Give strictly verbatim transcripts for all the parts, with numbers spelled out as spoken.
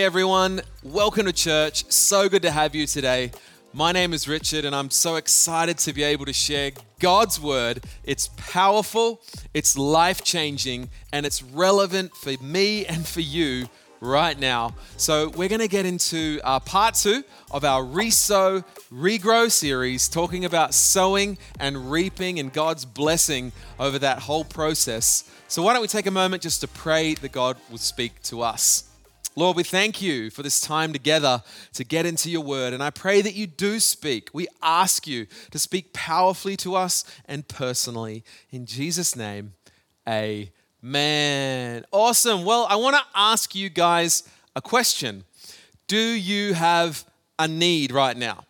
everyone. Welcome to church. So good to have you today. My name is Richard, and I'm so excited to be able to share God's word. It's powerful, it's life-changing, and it's relevant for me and for you right now. So we're going to get into uh, part two of our Resow, Regrow series, talking about sowing and reaping and God's blessing over that whole process. So why don't we take a moment just to pray that God will speak to us. Lord, we thank you for this time together to get into your word. And I pray that you do speak. We ask you to speak powerfully to us and personally. In Jesus' name, amen. Awesome. Well, I want to ask you guys a question. Do you have a need right now?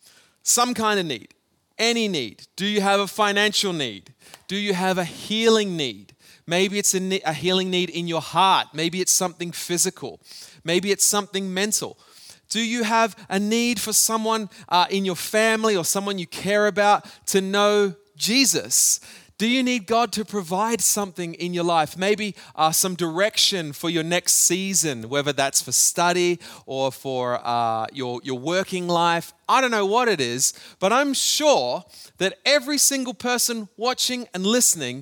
Some kind of need. Any need. Do you have a financial need? Do you have a healing need? Maybe it's a, ne- a healing need in your heart. Maybe it's something physical. Maybe it's something mental. Do you have a need for someone uh, in your family or someone you care about to know Jesus? Do you need God to provide something in your life? Maybe uh, some direction for your next season, whether that's for study or for uh, your, your working life. I don't know what it is, but I'm sure that every single person watching and listening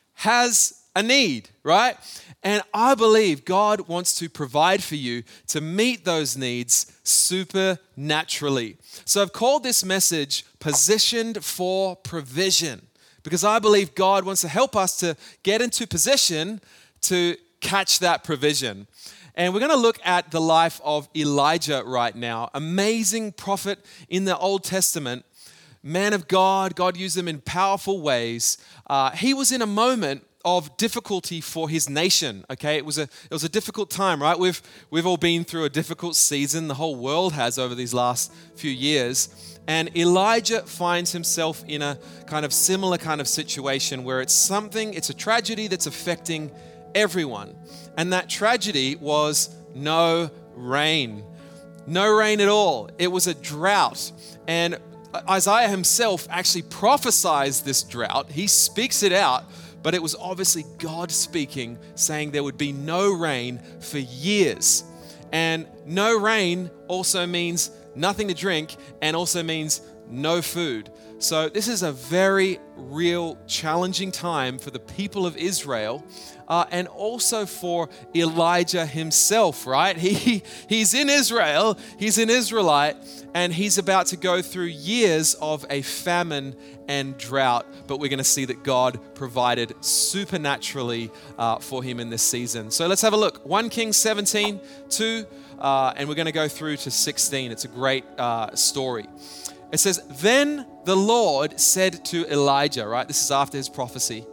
has a need, right? And I believe God wants to provide for you to meet those needs supernaturally. So I've called this message Positioned for Provision, because I believe God wants to help us to get into position to catch that provision. And we're going to look at the life of Elijah right now. Amazing prophet in the Old Testament, man of God. God used him in powerful ways. Uh, he was in a moment of difficulty for his nation. Okay, it was a it was a difficult time, right? We've we've all been through a difficult season. The whole world has over these last few years. And Elijah finds himself in a kind of similar kind of situation where it's something, it's a tragedy that's affecting everyone. And that tragedy was no rain. No rain at all. It was a drought. And Isaiah himself actually prophesies this drought. He speaks it out. But it was obviously God speaking, saying there would be no rain for years. And no rain also means nothing to drink and also means no food. So this is a very real, challenging time for the people of Israel uh, and also for Elijah himself, right? He He's in Israel, he's an Israelite, and he's about to go through years of a famine and drought, but we're going to see that God provided supernaturally uh, for him in this season. So let's have a look. First Kings seventeen, two, uh, and we're going to go through to sixteen. It's a great uh, story. It says, then the Lord said to Elijah, right? This is after his prophecy.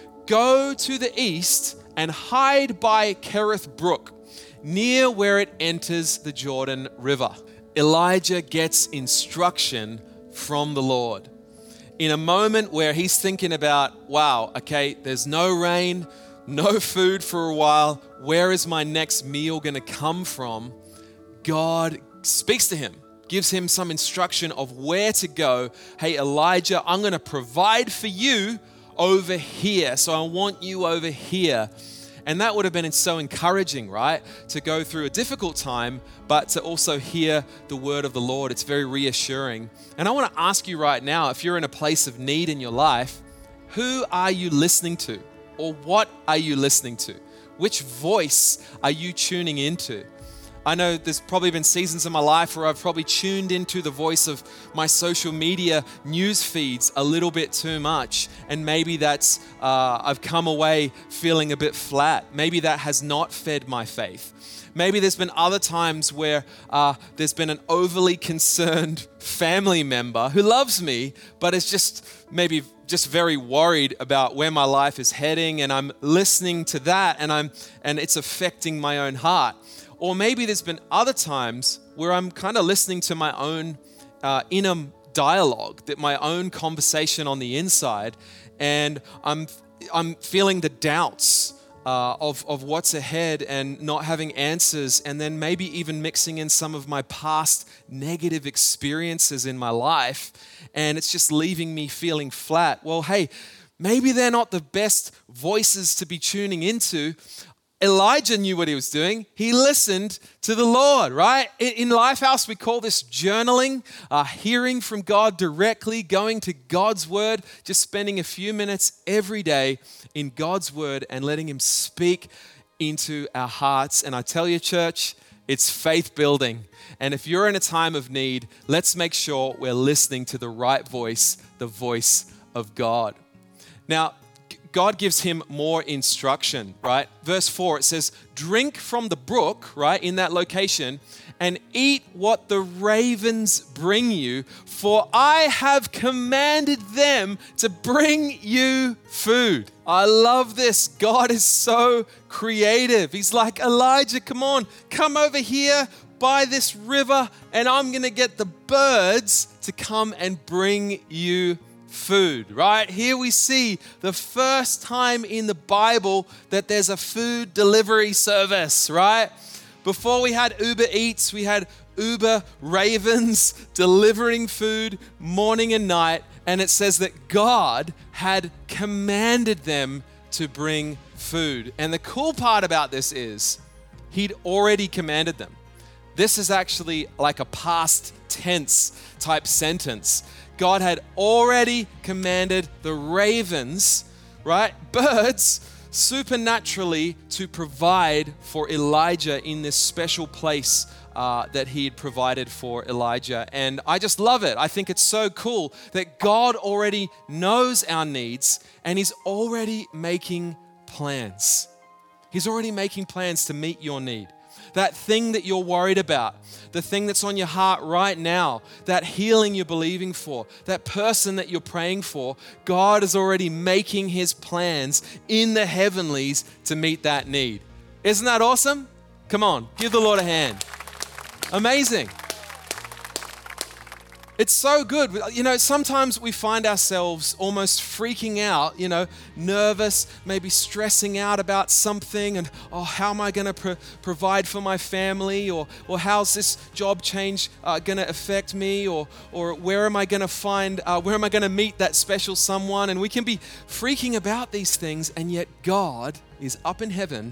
Go to the east and hide by Kerith Brook, near where it enters the Jordan River. Elijah gets instruction from the Lord. In a moment where he's thinking about, wow, okay, there's no rain, no food for a while. Where is my next meal going to come from? God speaks to him, gives him some instruction of where to go. Hey, Elijah, I'm going to provide for you over here. So I want you over here. And that would have been so encouraging, right? To go through a difficult time, but to also hear the word of the Lord. It's very reassuring. And I want to ask you right now, if you're in a place of need in your life, who are you listening to? Or what are you listening to? Which voice are you tuning into? I know there's probably been seasons in my life where I've probably tuned into the voice of my social media news feeds a little bit too much. And maybe that's, uh, I've come away feeling a bit flat. Maybe that has not fed my faith. Maybe there's been other times where uh, there's been an overly concerned family member who loves me, but is just maybe just very worried about where my life is heading. And I'm listening to that and I'm and it's affecting my own heart. Or maybe there's been other times where I'm kind of listening to my own uh, inner dialogue, that my own conversation on the inside, and I'm I'm feeling the doubts uh, of of what's ahead and not having answers, and then maybe even mixing in some of my past negative experiences in my life, and it's just leaving me feeling flat. Well, hey, maybe they're not the best voices to be tuning into. Elijah knew what he was doing. He listened to the Lord, right? In Lifehouse, we call this journaling, uh, hearing from God directly, going to God's word, just spending a few minutes every day in God's word and letting him speak into our hearts. And I tell you, church, it's faith building. And if you're in a time of need, let's make sure we're listening to the right voice, the voice of God. Now, God gives him more instruction, right? Verse four, it says, drink from the brook, right, in that location, and eat what the ravens bring you, for I have commanded them to bring you food. I love this. God is so creative. He's like, Elijah, come on, come over here by this river, and I'm going to get the birds to come and bring you food, right? Here we see the first time in the Bible that there's a food delivery service, right? Before we had Uber Eats, we had Uber Ravens delivering food morning and night. And it says that God had commanded them to bring food. And the cool part about this is he'd already commanded them. This is actually like a past tense type sentence. God had already commanded the ravens, right, birds, supernaturally to provide for Elijah in this special place uh, that he had provided for Elijah. And I just love it. I think it's so cool that God already knows our needs and he's already making plans. He's already making plans to meet your need. That thing that you're worried about, the thing that's on your heart right now, that healing you're believing for, that person that you're praying for, God is already making his plans in the heavenlies to meet that need. Isn't that awesome? Come on, give the Lord a hand. Amazing. It's so good. You know, sometimes we find ourselves almost freaking out, you know, nervous, maybe stressing out about something and, oh, how am I going to pro- provide for my family? Or, or how's this job change uh, going to affect me? Or, or where am I going to find, uh, where am I going to meet that special someone? And we can be freaking about these things, and yet God is up in heaven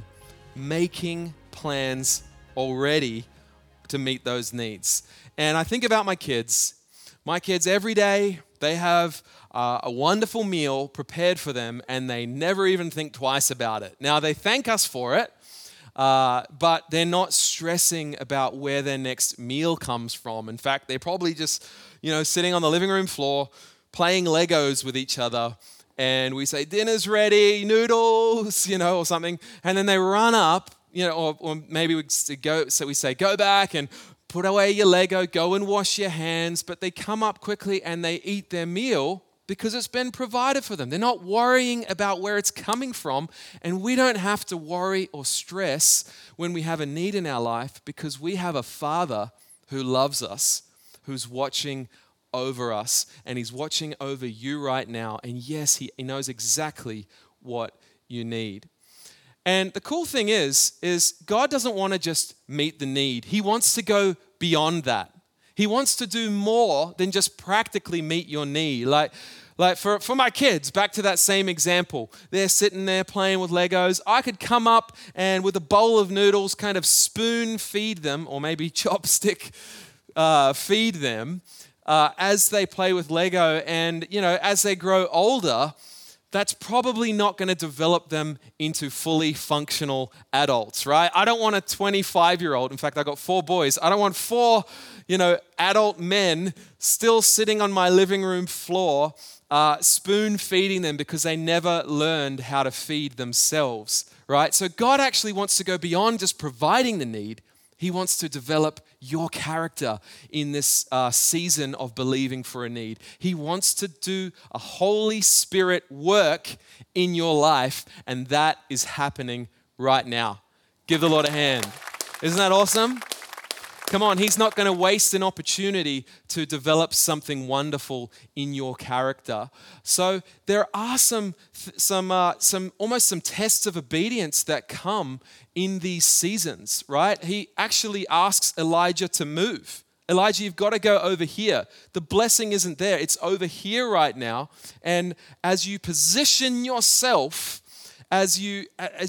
making plans already to meet those needs. And I think about my kids. My kids, every day, they have uh, a wonderful meal prepared for them, and they never even think twice about it. Now, they thank us for it, uh, but they're not stressing about where their next meal comes from. In fact, they're probably just, you know, sitting on the living room floor, playing Legos with each other, and we say, dinner's ready, noodles, you know, or something, and then they run up, you know, or, or maybe we go, so we say, go back and put away your Lego, go and wash your hands, but they come up quickly and they eat their meal because it's been provided for them. They're not worrying about where it's coming from, and we don't have to worry or stress when we have a need in our life because we have a Father who loves us, who's watching over us, and he's watching over you right now, and yes, he, he knows exactly what you need. And the cool thing is, is God doesn't want to just meet the need. He wants to go beyond that. He wants to do more than just practically meet your need. Like, like for, for my kids, back to that same example, they're sitting there playing with Legos. I could come up and with a bowl of noodles kind of spoon feed them, or maybe chopstick uh, feed them uh, as they play with Lego. And, you know, as they grow older, that's probably not going to develop them into fully functional adults, right? I don't want a twenty-five-year-old. In fact, I got four boys. I don't want four, you know, adult men still sitting on my living room floor, uh, spoon feeding them because they never learned how to feed themselves, right? So God actually wants to go beyond just providing the need. He wants to develop your character in this uh, season of believing for a need. He wants to do a Holy Spirit work in your life, and that is happening right now. Give the Lord a hand. Isn't that awesome? Come on, he's not going to waste an opportunity to develop something wonderful in your character. So there are some, some, uh, some almost some tests of obedience that come in these seasons, right? He actually asks Elijah to move. Elijah, you've got to go over here. The blessing isn't there. It's over here right now. And as you position yourself, as you, as you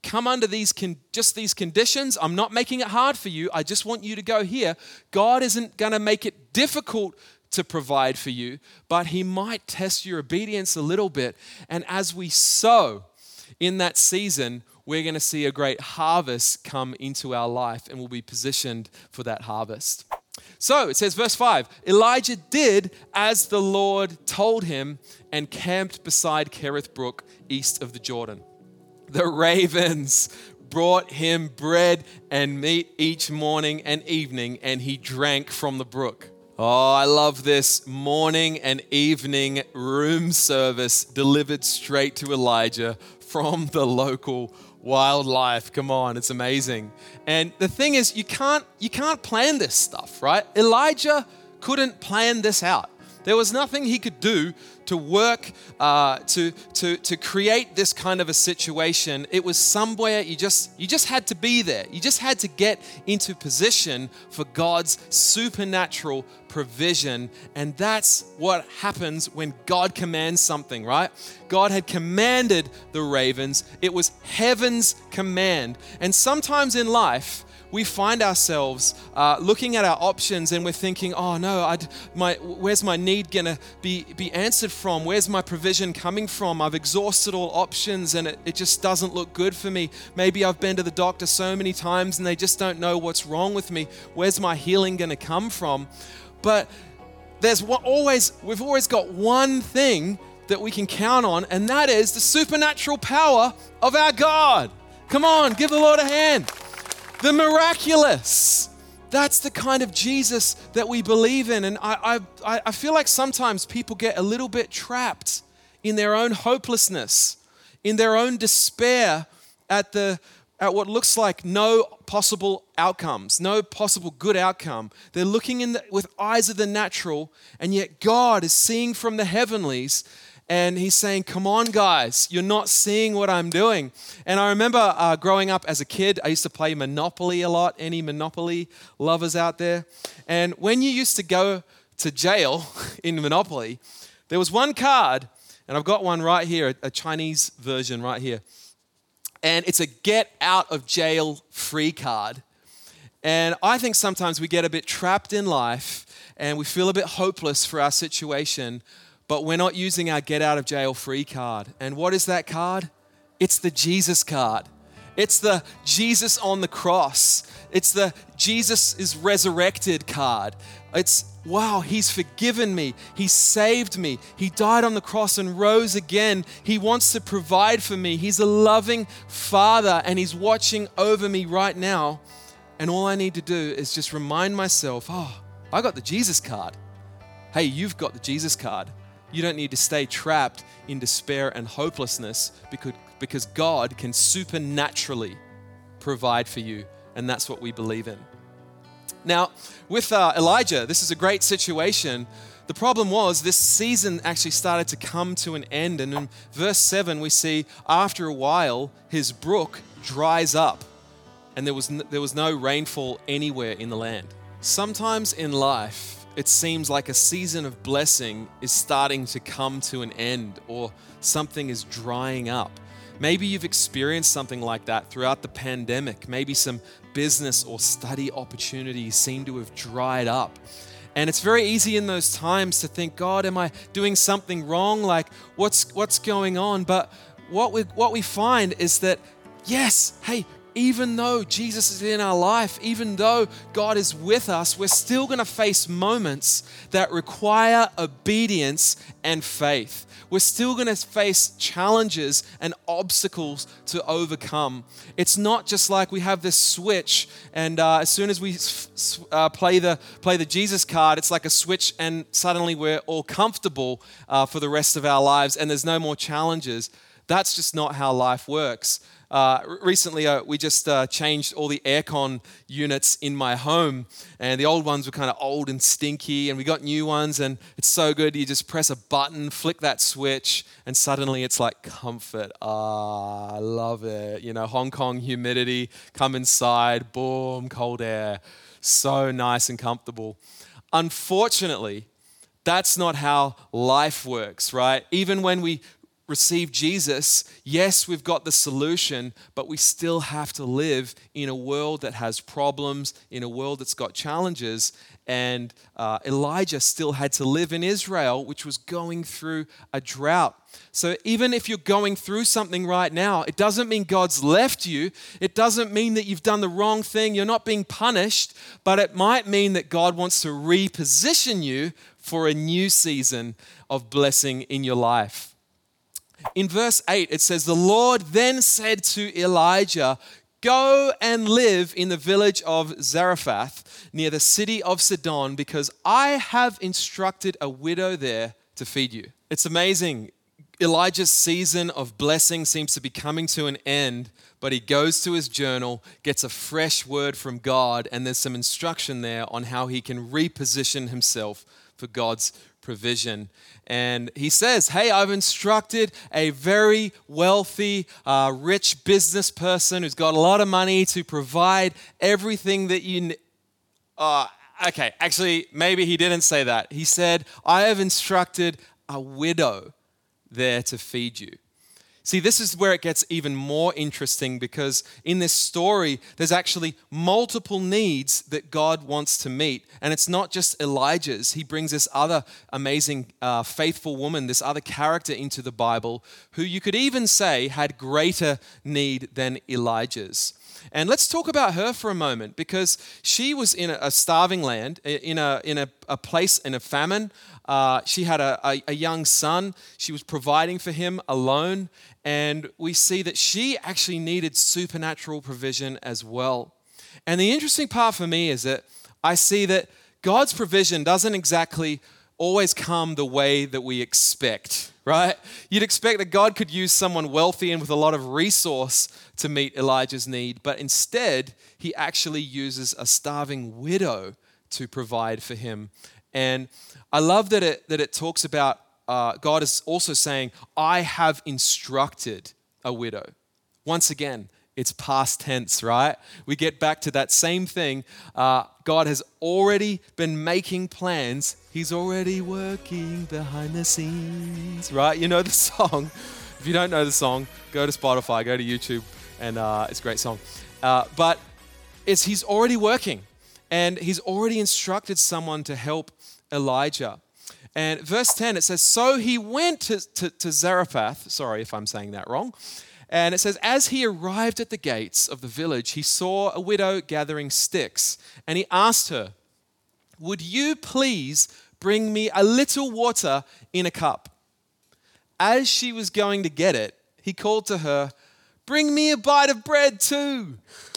come under these con- just these conditions. I'm not making it hard for you. I just want you to go here. God isn't going to make it difficult to provide for you, but he might test your obedience a little bit. And as we sow in that season, we're going to see a great harvest come into our life, and we'll be positioned for that harvest. So it says, verse five, Elijah did as the Lord told him and camped beside Kerith Brook, east of the Jordan. The ravens brought him bread and meat each morning and evening, and he drank from the brook. Oh, I love this morning and evening room service delivered straight to Elijah from the local wildlife. Come on, it's amazing. And the thing is, you can't you can't plan this stuff, right? Elijah couldn't plan this out. There was nothing he could do to work, uh, to, to, to create this kind of a situation. It was somewhere you just, you just had to be there. You just had to get into position for God's supernatural provision. And that's what happens when God commands something, right? God had commanded the ravens. It was heaven's command. And sometimes in life, we find ourselves uh, looking at our options and we're thinking, oh no, I'd, my, where's my need gonna be, be answered from? Where's my provision coming from? I've exhausted all options and it, it just doesn't look good for me. Maybe I've been to the doctor so many times and they just don't know what's wrong with me. Where's my healing gonna come from? But there's one, always, we've always got one thing that we can count on, and that is the supernatural power of our God. Come on, give the Lord a hand. The miraculous. That's the kind of Jesus that we believe in. And I, I, I feel like sometimes people get a little bit trapped in their own hopelessness, in their own despair at the at what looks like no possible outcomes, no possible good outcome. They're looking in the, with eyes of the natural, and yet God is seeing from the heavenlies. And he's saying, come on, guys, you're not seeing what I'm doing. And I remember uh, growing up as a kid, I used to play Monopoly a lot. Any Monopoly lovers out there? And when you used to go to jail in Monopoly, there was one card, and I've got one right here, a Chinese version right here. And it's a get out of jail free card. And I think sometimes we get a bit trapped in life and we feel a bit hopeless for our situation, but we're not using our get out of jail free card. And what is that card? It's the Jesus card. It's the Jesus on the cross. It's the Jesus is resurrected card. It's, wow, he's forgiven me. He saved me. He died on the cross and rose again. He wants to provide for me. He's a loving Father and he's watching over me right now. And all I need to do is just remind myself, oh, I got the Jesus card. Hey, you've got the Jesus card. You don't need to stay trapped in despair and hopelessness because, because God can supernaturally provide for you. And that's what we believe in. Now, with uh, Elijah, this is a great situation. The problem was this season actually started to come to an end. And in verse seven, we see after a while, his brook dries up and there was, n- there was no rainfall anywhere in the land. Sometimes in life, it seems like a season of blessing is starting to come to an end or something is drying up. Maybe you've experienced something like that throughout the pandemic. Maybe some business or study opportunities seem to have dried up. And it's very easy in those times to think, God, am I doing something wrong? Like, what's what's going on? But what we what we find is that, yes, hey, even though Jesus is in our life, even though God is with us, we're still going to face moments that require obedience and faith. We're still going to face challenges and obstacles to overcome. It's not just like we have this switch and uh, as soon as we uh, play the play the Jesus card, it's like a switch and suddenly we're all comfortable uh, for the rest of our lives and there's no more challenges. That's just not how life works. Uh, recently, uh, we just uh, changed all the aircon units in my home, and the old ones were kind of old and stinky, and we got new ones, and it's so good. You just press a button, flick that switch, and suddenly it's like comfort. Ah, I love it. You know, Hong Kong humidity, come inside, boom, cold air. So nice and comfortable. Unfortunately, that's not how life works, right? Even when we received Jesus, yes, we've got the solution, but we still have to live in a world that has problems, in a world that's got challenges. And uh, Elijah still had to live in Israel, which was going through a drought. So even if you're going through something right now, it doesn't mean God's left you. It doesn't mean that you've done the wrong thing. You're not being punished, but it might mean that God wants to reposition you for a new season of blessing in your life. In verse eight, it says, "The Lord then said to Elijah, 'Go and live in the village of Zarephath near the city of Sidon, because I have instructed a widow there to feed you.'" It's amazing. Elijah's season of blessing seems to be coming to an end, but he goes to his journal, gets a fresh word from God, and there's some instruction there on how he can reposition himself for God's provision. And he says, hey, I've instructed a very wealthy, uh, rich business person who's got a lot of money to provide everything that you need. Uh, okay, actually, maybe he didn't say that. He said, I have instructed a widow there to feed you. See, this is where it gets even more interesting, because in this story, there's actually multiple needs that God wants to meet. And it's not just Elijah's. He brings this other amazing, uh, faithful woman, this other character into the Bible, who you could even say had greater need than Elijah's. And let's talk about her for a moment, because she was in a starving land, in a in a, a place in a famine. Uh, she had a, a, a young son. She was providing for him alone. And we see that she actually needed supernatural provision as well. And the interesting part for me is that I see that God's provision doesn't exactly always come the way that we expect, right? You'd expect that God could use someone wealthy and with a lot of resource to meet Elijah's need, but instead, he actually uses a starving widow to provide for him. And I love that it that it talks about uh, God is also saying, I have instructed a widow. Once again, it's past tense, right? We get back to that same thing. Uh, God has already been making plans. He's already working behind the scenes, right? You know the song. If you don't know the song, go to Spotify, go to YouTube, and uh, it's a great song. Uh, but it's He's already working, and He's already instructed someone to help Elijah. And verse ten, it says, so he went to, to, to Zarephath. Sorry if I'm saying that wrong. And it says, as he arrived at the gates of the village, he saw a widow gathering sticks. And he asked her, would you please bring me a little water in a cup? As she was going to get it, he called to her, bring me a bite of bread too.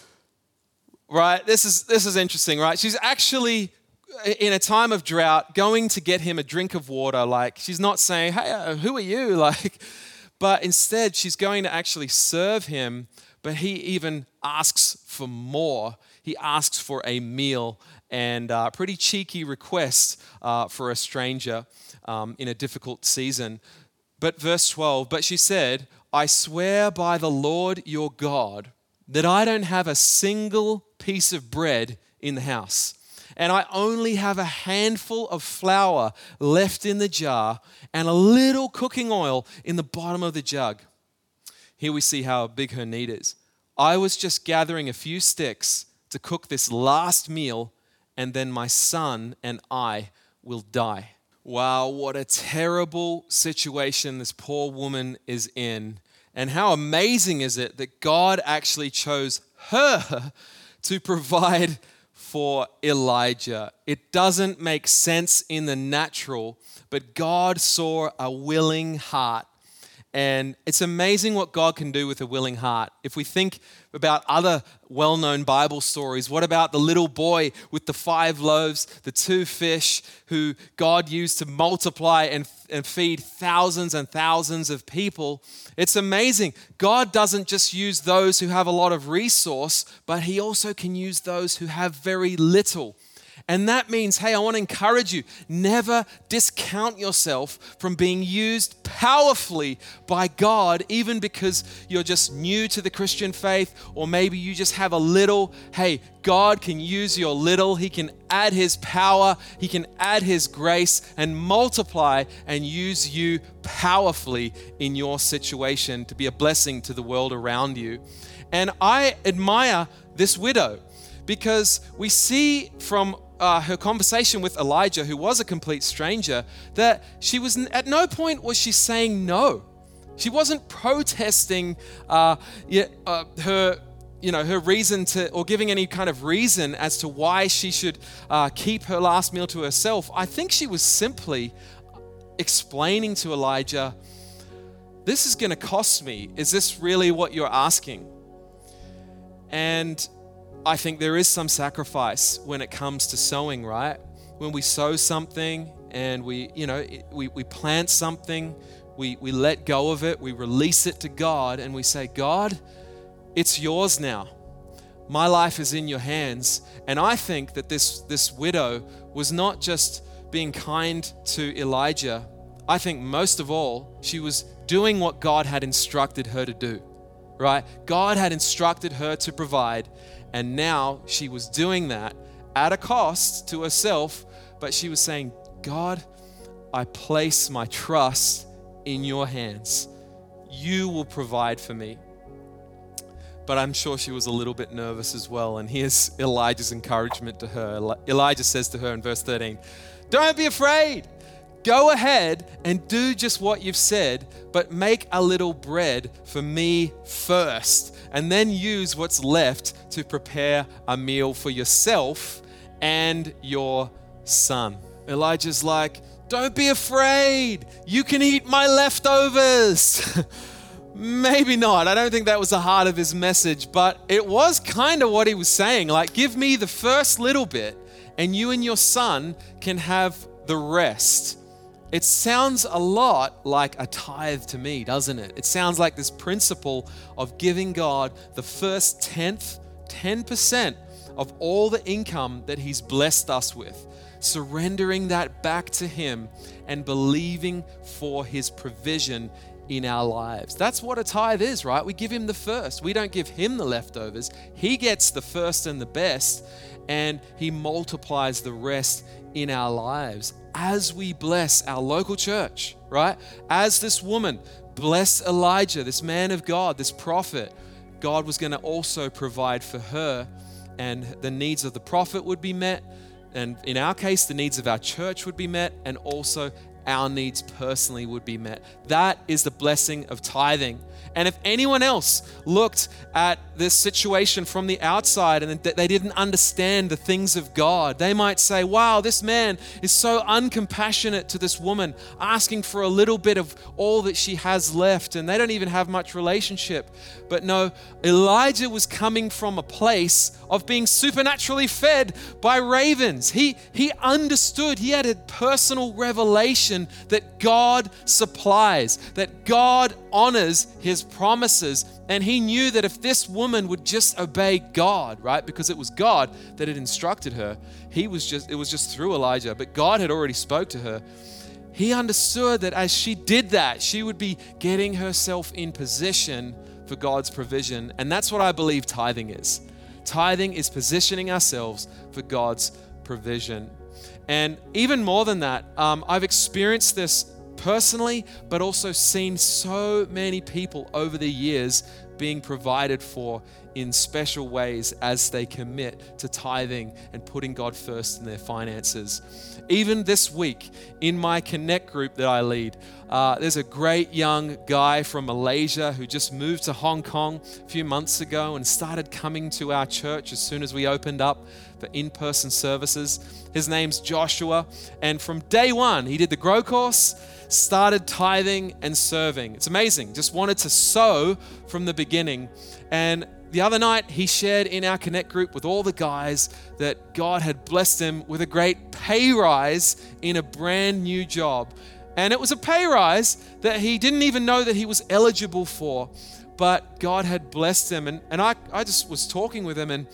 Right? This is, this is interesting, right? She's actually, in a time of drought, going to get him a drink of water. Like, she's not saying, hey, uh, who are you? Like, but instead, she's going to actually serve him, but he even asks for more. He asks for a meal, and a pretty cheeky request uh, for a stranger um, in a difficult season. But verse twelve, but she said, I swear by the Lord your God that I don't have a single piece of bread in the house, and I only have a handful of flour left in the jar and a little cooking oil in the bottom of the jug. Here we see how big her need is. I was just gathering a few sticks to cook this last meal, and then my son and I will die. Wow, what a terrible situation this poor woman is in. And how amazing is it that God actually chose her to provide for Elijah. It doesn't make sense in the natural, but God saw a willing heart. And it's amazing what God can do with a willing heart. If we think about other well-known Bible stories, what about the little boy with the five loaves, the two fish, who God used to multiply and, and feed thousands and thousands of people? It's amazing. God doesn't just use those who have a lot of resource, but he also can use those who have very little. And that means, hey, I want to encourage you, never discount yourself from being used powerfully by God, even because you're just new to the Christian faith, or maybe you just have a little. Hey, God can use your little. He can add His power. He can add His grace and multiply and use you powerfully in your situation to be a blessing to the world around you. And I admire this widow because we see from Uh, her conversation with Elijah, who was a complete stranger, that she was at no point was she saying no. She wasn't protesting uh, yeah, uh, her, you know, her reason to, or giving any kind of reason as to why she should uh, keep her last meal to herself. I think she was simply explaining to Elijah, "This is going to cost me. Is this really what you're asking?" And I think there is some sacrifice when it comes to sowing, right? When we sow something and we, you know, we, we plant something, we, we let go of it, we release it to God, and we say, "God, it's yours now. My life is in your hands." And I think that this, this widow was not just being kind to Elijah. I think most of all, she was doing what God had instructed her to do, right? God had instructed her to provide. And now she was doing that at a cost to herself, but she was saying, "God, I place my trust in your hands. You will provide for me." But I'm sure she was a little bit nervous as well. And here's Elijah's encouragement to her. Elijah says to her in verse thirteen, "Don't be afraid. Go ahead and do just what you've said, but make a little bread for me first, and then use what's left to prepare a meal for yourself and your son." Elijah's like, "Don't be afraid. You can eat my leftovers." Maybe not. I don't think that was the heart of his message, but it was kind of what he was saying. Like, give me the first little bit, and you and your son can have the rest. It sounds a lot like a tithe to me, doesn't it? It sounds like this principle of giving God the first tenth, ten percent of all the income that He's blessed us with, surrendering that back to Him and believing for His provision in our lives. That's what a tithe is, right? We give Him the first. We don't give Him the leftovers. He gets the first and the best, and He multiplies the rest in our lives as we bless our local church, right? As this woman blessed Elijah, this man of God, this prophet, God was going to also provide for her, and the needs of the prophet would be met. And in our case, the needs of our church would be met, and also our needs personally would be met. That is the blessing of tithing. And if anyone else looked at this situation from the outside and they didn't understand the things of God, they might say, "Wow, this man is so uncompassionate to this woman, asking for a little bit of all that she has left, and they don't even have much relationship." But no, Elijah was coming from a place of being supernaturally fed by ravens. He, he understood, he had a personal revelation that God supplies, that God honors His promises. And he knew that if this woman would just obey God, right? Because it was God that had instructed her. He was just, it was just through Elijah, but God had already spoke to her. He understood that as she did that, she would be getting herself in position for God's provision. And that's what I believe tithing is. Tithing is positioning ourselves for God's provision. And even more than that, um, I've experienced this personally, but also seen so many people over the years being provided for in special ways as they commit to tithing and putting God first in their finances. Even this week in my Connect group that I lead, uh, there's a great young guy from Malaysia who just moved to Hong Kong a few months ago and started coming to our church as soon as we opened up for in-person services. His name's Joshua, and from day one, he did the Grow course, started tithing and serving. It's amazing. Just wanted to sow from the beginning. And the other night, he shared in our Connect group with all the guys that God had blessed him with a great pay rise in a brand new job. And it was a pay rise that he didn't even know that he was eligible for, but God had blessed him. And, and I, I just was talking with him, and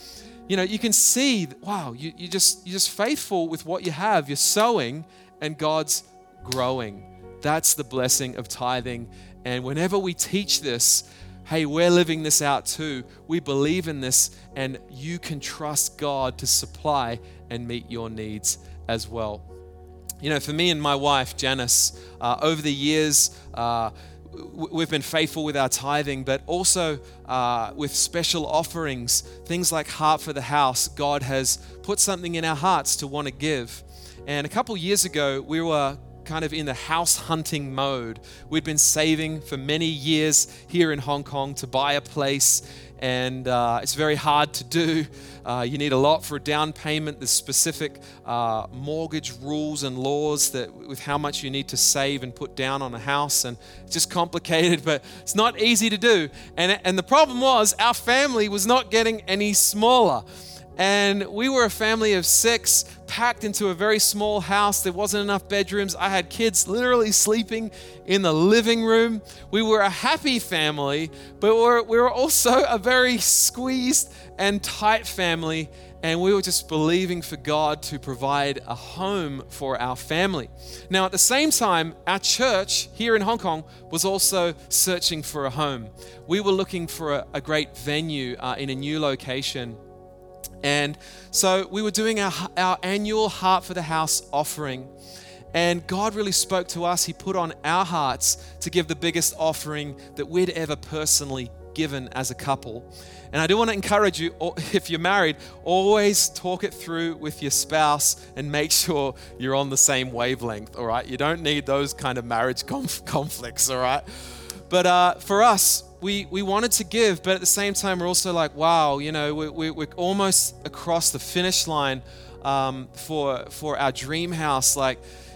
you know, you can see, wow, you, you just, you're just faithful with what you have. You're sowing and God's growing. That's the blessing of tithing. And whenever we teach this, hey, we're living this out too. We believe in this, and you can trust God to supply and meet your needs as well. You know, for me and my wife, Janice, uh, over the years, uh, we've been faithful with our tithing, but also uh, with special offerings, things like Heart for the House. God has put something in our hearts to want to give. And a couple years ago, we were kind of in the house hunting mode. We'd been saving for many years here in Hong Kong to buy a place, and uh, it's very hard to do. Uh, you need a lot for a down payment. There's specific uh, mortgage rules and laws that with how much you need to save and put down on a house, and it's just complicated, but it's not easy to do. And, and the problem was our family was not getting any smaller. And we were a family of six, packed into a very small house. There wasn't enough bedrooms. I had kids literally sleeping in the living room. We were a happy family, but we're, we were also a very squeezed and tight family. And we were just believing for God to provide a home for our family. Now, at the same time, our church here in Hong Kong was also searching for a home. We were looking for a, a great venue uh, in a new location. And so we were doing our, our annual Heart for the House offering. And God really spoke to us. He put on our hearts to give the biggest offering that we'd ever personally given as a couple. And I do want to encourage you, if you're married, always talk it through with your spouse and make sure you're on the same wavelength, all right? You don't need those kind of marriage conf- conflicts, all right? But uh, for us, we, we wanted to give, but at the same time, we're also like, wow, you know, we, we, we're almost across the finish line um, for, for our dream house. Like,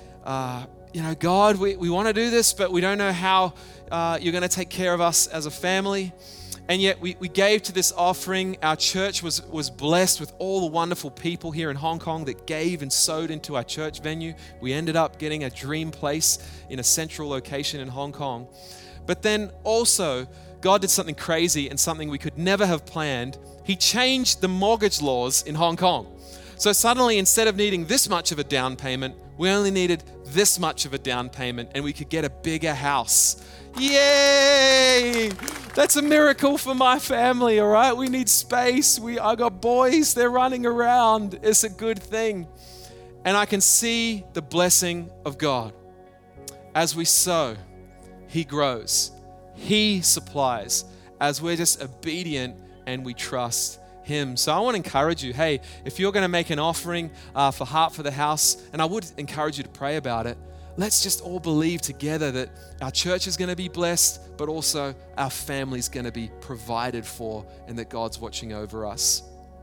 uh, you know, God, we, we want to do this, but we don't know how uh, you're going to take care of us as a family. And yet we, we gave to this offering. Our church was, was blessed with all the wonderful people here in Hong Kong that gave and sowed into our church venue. We ended up getting a dream place in a central location in Hong Kong. But then also, God did something crazy and something we could never have planned. He changed the mortgage laws in Hong Kong. So suddenly, instead of needing this much of a down payment, we only needed this much of a down payment, and we could get a bigger house. Yay! That's a miracle for my family, all right? We need space. We, I got boys, they're running around. It's a good thing. And I can see the blessing of God. As we sow, He grows. He supplies as we're just obedient and we trust Him. So I want to encourage you, hey, if you're going to make an offering uh, for Heart for the House, and I would encourage you to pray about it, let's just all believe together that our church is going to be blessed, but also our family's going to be provided for, and that God's watching over us.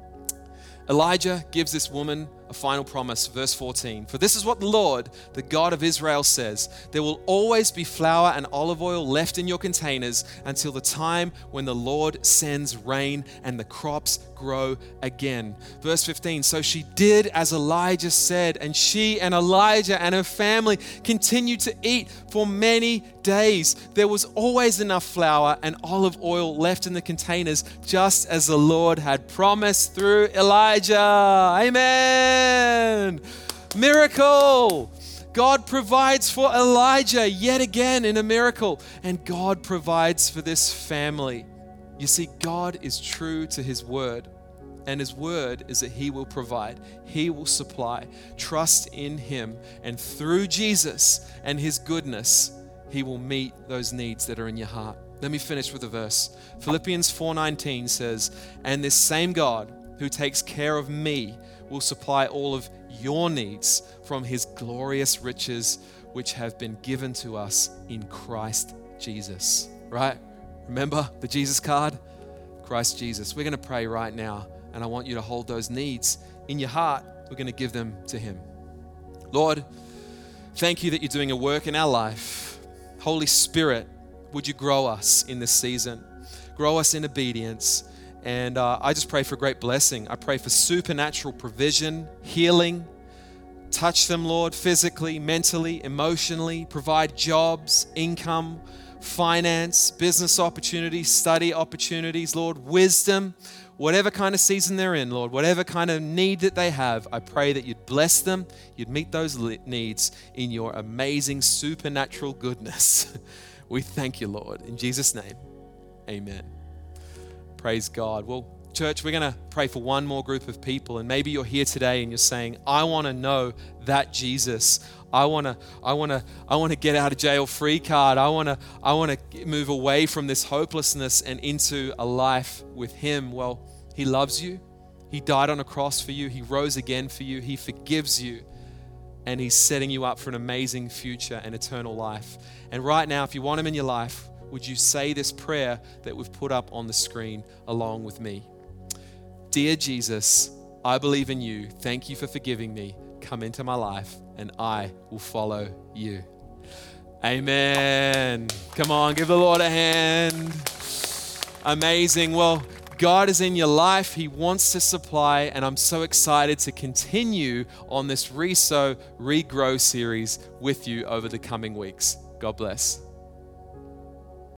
Elijah gives this woman a final promise, verse fourteen. For this is what the Lord, the God of Israel says, there will always be flour and olive oil left in your containers until the time when the Lord sends rain and the crops grow again. Verse fifteen, so she did as Elijah said, and she and Elijah and her family continued to eat for many days. There was always enough flour and olive oil left in the containers, just as the Lord had promised through Elijah. Amen. Miracle. God provides for Elijah yet again in a miracle, and God provides for this family. You see, God is true to His word, and His word is that He will provide, He will supply. Trust in Him, and through Jesus and His goodness, He will meet those needs that are in your heart. Let me finish with a verse. Philippians four nineteen says, and this same God who takes care of me will supply all of your needs from His glorious riches, which have been given to us in Christ Jesus. Right? Remember the Jesus card? Christ Jesus. We're going to pray right now, and I want you to hold those needs in your heart. We're going to give them to Him. Lord, thank you that you're doing a work in our life. Holy Spirit, would you grow us in this season? Grow us in obedience. And uh, I just pray for great blessing. I pray for supernatural provision, healing. Touch them, Lord, physically, mentally, emotionally. Provide jobs, income, finance, business opportunities, study opportunities, Lord, wisdom. whatever kind of season they're in, Lord, whatever kind of need that they have, I pray that you'd bless them, you'd meet those needs in your amazing supernatural goodness. We thank you, Lord. In Jesus' name, amen. Praise God. Well, church, we're going to pray for one more group of people. And maybe you're here today and you're saying, I want to know that Jesus. I want to I want to I want to get out of jail free card. I want to I want to move away from this hopelessness and into a life with him. Well, he loves you. He died on a cross for you. He rose again for you. He forgives you. And he's setting you up for an amazing future and eternal life. And right now, if you want him in your life, would you say this prayer that we've put up on the screen along with me? Dear Jesus, I believe in you. Thank you for forgiving me. Come into my life and I will follow you. Amen. Come on, give the Lord a hand. Amazing. Well, God is in your life. He wants to supply, and I'm so excited to continue on this Resow, Regrow series with you over the coming weeks. God bless.